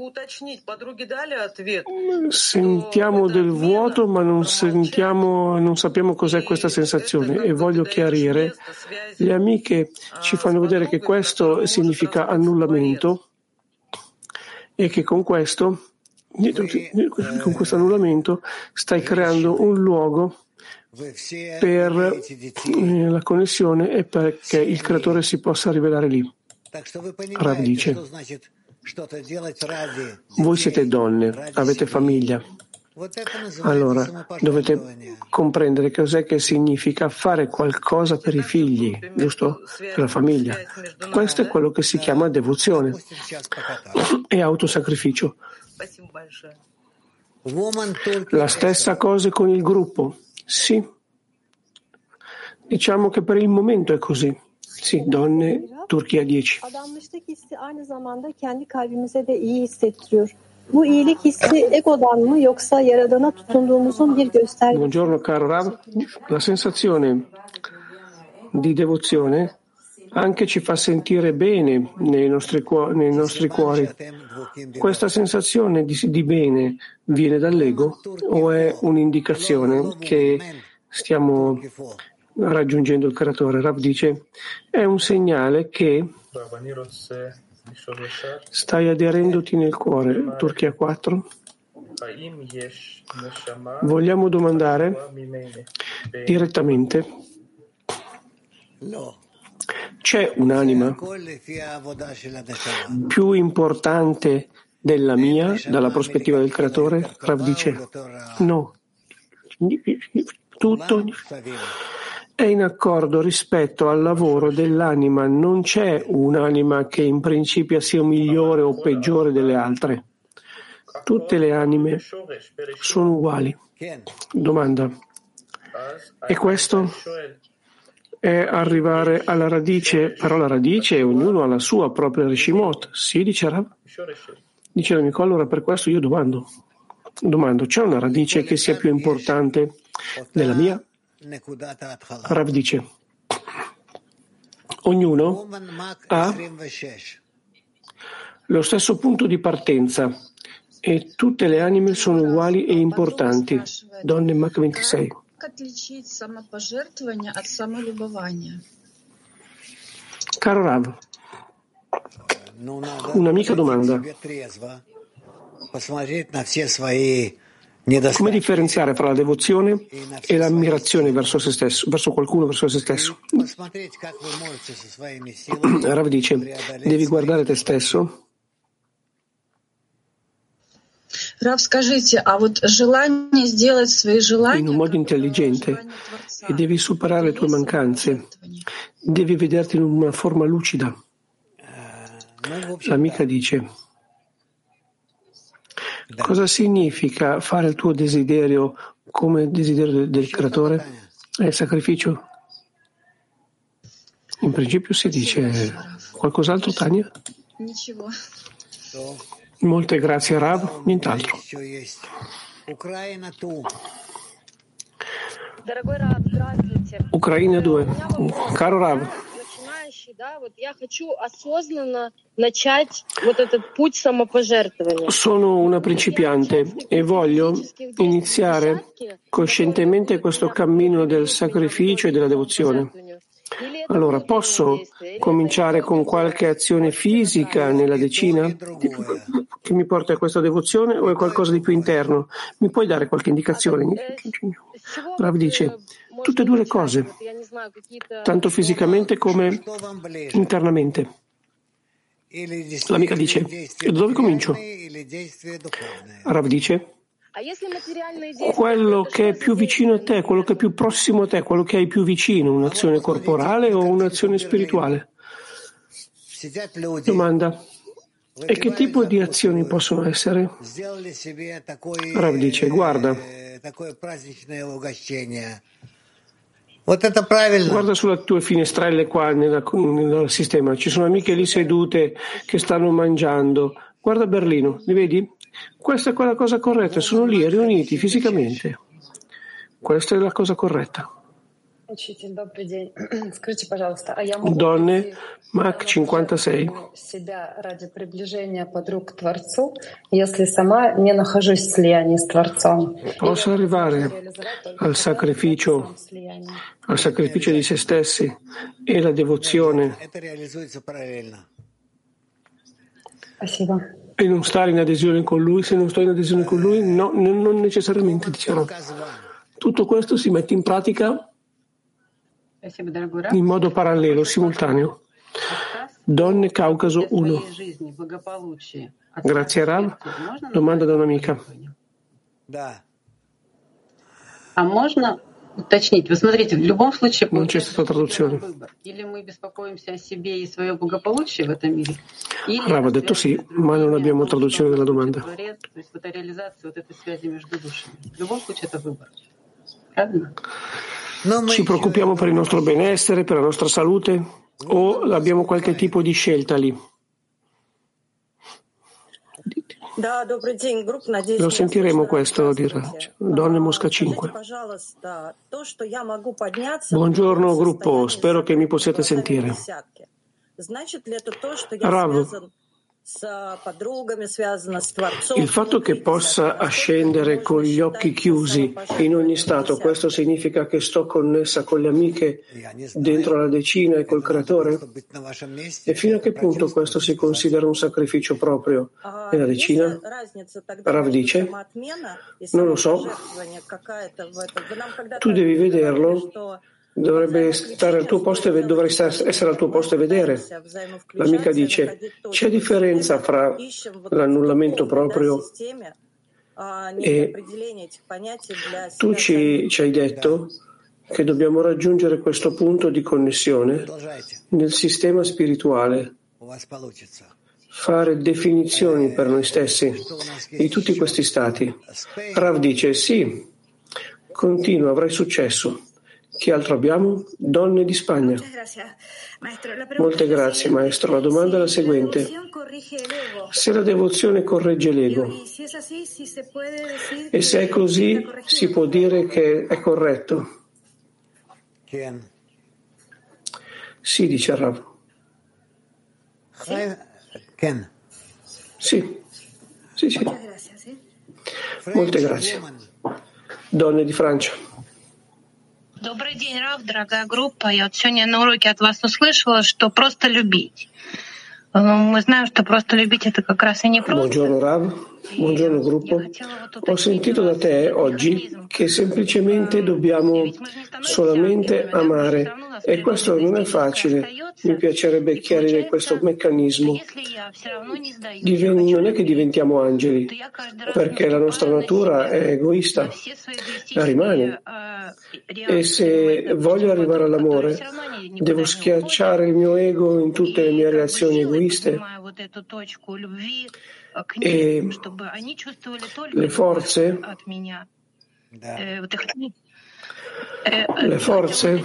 Sentiamo del vuoto, ma non sentiamo, non sappiamo cos'è questa sensazione, e voglio chiarire. Le amiche ci fanno vedere che questo significa annullamento e che con questo con questo annullamento stai creando un luogo per la connessione e perché il creatore si possa rivelare lì. Rav dice: voi siete donne, avete famiglia, allora dovete comprendere cos'è che significa fare qualcosa per i figli, giusto? Per la famiglia. Questo è quello che si chiama devozione e autosacrificio. La stessa cosa con il gruppo? Sì. Diciamo che per il momento è così. Sì, donne, Turchia dieci. Adanmışlık hissi aynı zamanda kendi kalbimize de iyi hissettiriyor. Bu iyilik hissi egodan mı yoksa Yaradan'a tutunduğumuzun bir göstergesi? Buongiorno caro Rav. La sensazione di devozione anche ci fa sentire bene nei nostri, cuori, nei nostri cuori. Questa sensazione di, di bene viene dall'ego o è un'indicazione che stiamo raggiungendo il creatore? Rav dice: è un segnale che stai aderendoti nel cuore. Turchia quattro. Vogliamo domandare direttamente: c'è un'anima più importante della mia dalla prospettiva del creatore? Rav dice: no. Tutto è in accordo rispetto al lavoro dell'anima. Non c'è un'anima che in principio sia migliore o peggiore delle altre. Tutte le anime sono uguali. Domanda: e questo è arrivare alla radice? Però la radice, ognuno ha la sua propria Rishimot. Sì, dice Rav. Dice l'amico: allora per questo io domando. Domando, c'è una radice che sia più importante della mia? Rav dice: ognuno ha lo stesso punto di partenza e tutte le anime sono uguali e importanti. Donne Mach ventisei. Caro Rav, un'amica domanda: come differenziare fra la devozione e l'ammirazione verso se stesso, verso qualcuno, verso se stesso? Rav dice: devi guardare te stesso. Rav, скажите, а вот желание сделать свои желания in un modo intelligente e devi superare le tue mancanze. Devi vederti in una forma lucida. L'amica dice: cosa significa fare il tuo desiderio come desiderio del, del creatore? È il sacrificio? In principio si dice. Qualcos'altro, Tania? Molte grazie, Rav. Nient'altro. Ucraina due. Caro Rav, sono una principiante e voglio iniziare coscientemente questo cammino del sacrificio e della devozione. Allora, posso cominciare con qualche azione fisica nella decina che mi porta a questa devozione o è qualcosa di più interno? Mi puoi dare qualche indicazione? Rav dice: tutte e due le cose, tanto fisicamente come internamente. L'amica dice: e da dove comincio? Rav dice: quello che è più vicino a te, quello che è più prossimo a te, quello che hai più vicino, un'azione corporale o un'azione spirituale? Domanda: e che tipo di azioni possono essere? Rav dice: guarda, guarda sulle tue finestrelle qua nella, nel sistema, ci sono amiche lì sedute che stanno mangiando. Guarda Berlino, li vedi? Questa è quella cosa corretta, sono lì riuniti fisicamente. Questa è la cosa corretta. Donne, Mac cinquantasei. Posso arrivare al sacrificio, al sacrificio di se stessi e la devozione e non stare in adesione con lui. Se non sto in adesione con lui, no, non necessariamente, diciamo. Tutto questo si mette in pratica in modo parallelo, simultaneo. Donne Caucaso uno. Grazie Rav. Domanda da un'amica. А можно уточнить? Вы смотрите, в любом случае non c'è stata traduzione. Или мы беспокоимся о себе и свое благополучие в этом мире? Rav ha detto sì, ma non abbiamo traduzione della domanda. То есть вот эта реализация вот этой связи между душами. В любом случае это выбор. Правильно? Ci preoccupiamo per il nostro benessere, per la nostra salute, o abbiamo qualche tipo di scelta lì? Lo sentiremo questo, dirà. Donne Mosca cinque. Buongiorno gruppo, spero che mi possiate sentire. Rav, il fatto che possa ascendere con gli occhi chiusi in ogni stato, questo significa che sto connessa con le amiche dentro la decina e col creatore? E fino a che punto questo si considera un sacrificio proprio nella decina? Rav dice, non lo so, tu devi vederlo. Dovrebbe stare al tuo posto e dovrei essere al tuo posto e vedere. L'amica dice, c'è differenza fra l'annullamento proprio e tu ci, ci hai detto che dobbiamo raggiungere questo punto di connessione nel sistema spirituale, fare definizioni per noi stessi di tutti questi stati. Rav dice, sì, continua, avrai successo. Chi altro abbiamo? Donne di Spagna. Molte grazie, maestro. La domanda è la seguente. Se la devozione corregge l'ego, e se è così, si può dire che è corretto? Sì, dice Rav. Sì, sì, sì. Molte grazie. Donne di Francia. Добрый день, Рав, дорогая группа. Я вот сегодня на уроке от вас услышала, что просто любить. Мы знаем, что просто любить это как раз и не просто. Buongiorno Rav, buongiorno gruppo. Ho sentito da te oggi che semplicemente dobbiamo solamente amare e questo non è facile. Mi piacerebbe chiarire questo meccanismo. Diven- non è che diventiamo angeli, perché la nostra natura è egoista, la rimane. E se voglio arrivare all'amore, devo schiacciare il mio ego in tutte le mie reazioni egoiste e le forze le forze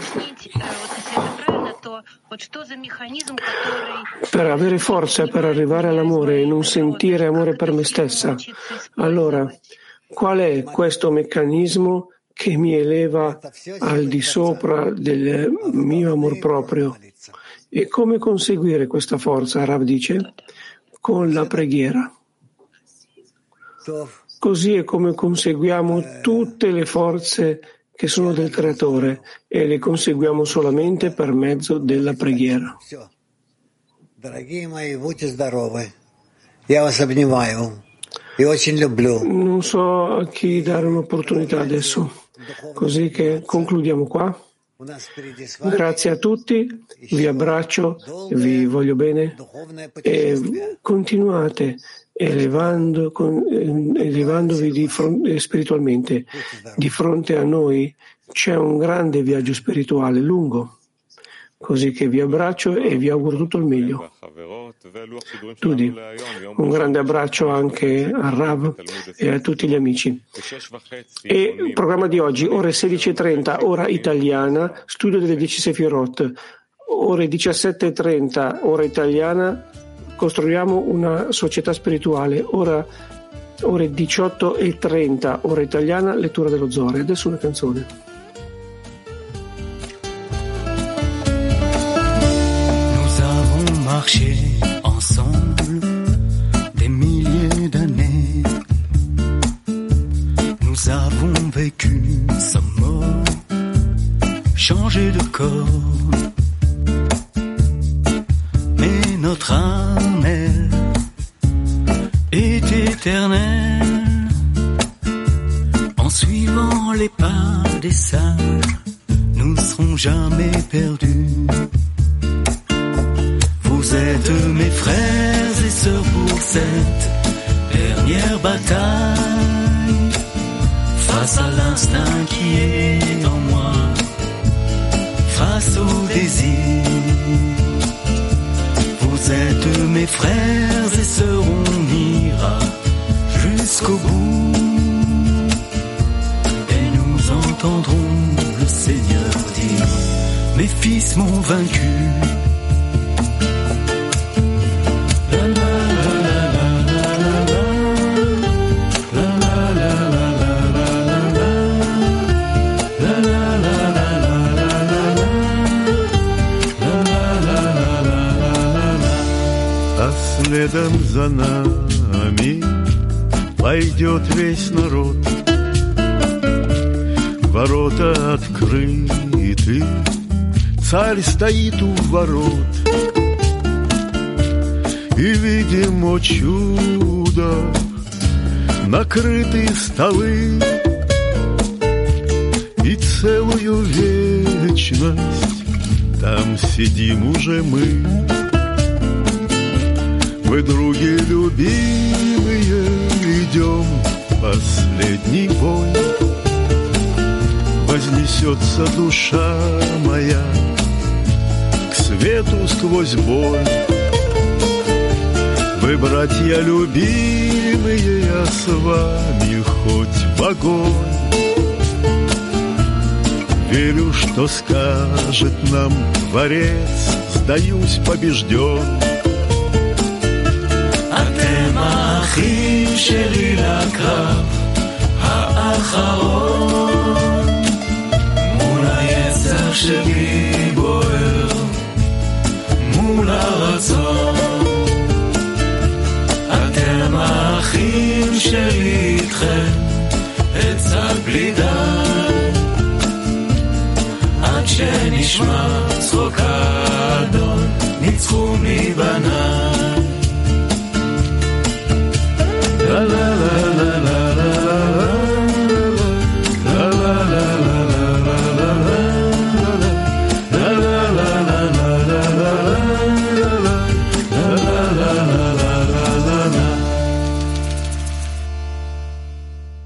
per avere forza per arrivare all'amore e non sentire amore per me stessa. Allora, qual è questo meccanismo che mi eleva al di sopra del mio amor proprio? E come conseguire questa forza? Rav dice, con la preghiera. Così è come conseguiamo tutte le forze che sono del Creatore e le conseguiamo solamente per mezzo della preghiera. Non so a chi dare un'opportunità adesso, così che concludiamo qua. Grazie a tutti, vi abbraccio, vi voglio bene e continuate elevando, con, elevandovi di fronte, spiritualmente. Di fronte a noi c'è un grande viaggio spirituale lungo, così che vi abbraccio e vi auguro tutto il meglio. Tudi, un grande abbraccio anche a Rav e a tutti gli amici. E il programma di oggi, ore sedici e trenta, ora italiana, studio delle dieci Sefirot, ore diciassette e trenta, ora italiana, costruiamo una società spirituale, ora ore diciotto e trenta, ora italiana, lettura dello Zohar. Adesso una canzone. Nous avons marché ensemble des milliers d'années. Nous avons vécu sans mort, changé de corps. Mais notre âme, elle, est éternelle. En suivant les pas des sages, nous ne serons jamais perdus. Vous êtes mes frères et sœurs pour cette dernière bataille. Face à l'instinct qui est en moi, face au désir. Vous êtes mes frères et sœurs, on ira jusqu'au bout. Et nous entendrons le Seigneur dire, mes fils m'ont vaincu. Следом за нами пойдет весь народ. Ворота открыты, царь стоит у ворот. И видим, о чудо, накрыты столы. И целую вечность там сидим уже мы. Мы, други любимые, идем последний бой. Вознесется душа моя к свету сквозь боль. Вы, братья любимые, я с вами хоть в огонь. Верю, что скажет нам Творец, сдаюсь побежден. האחים שלי לקרב האחרון, מול היצר שלי בוער, מול הרצון. אתם האחים שלי איתכם, עצה בלי די, עד שנשמע צחוק האדון, ניצחו מבניי.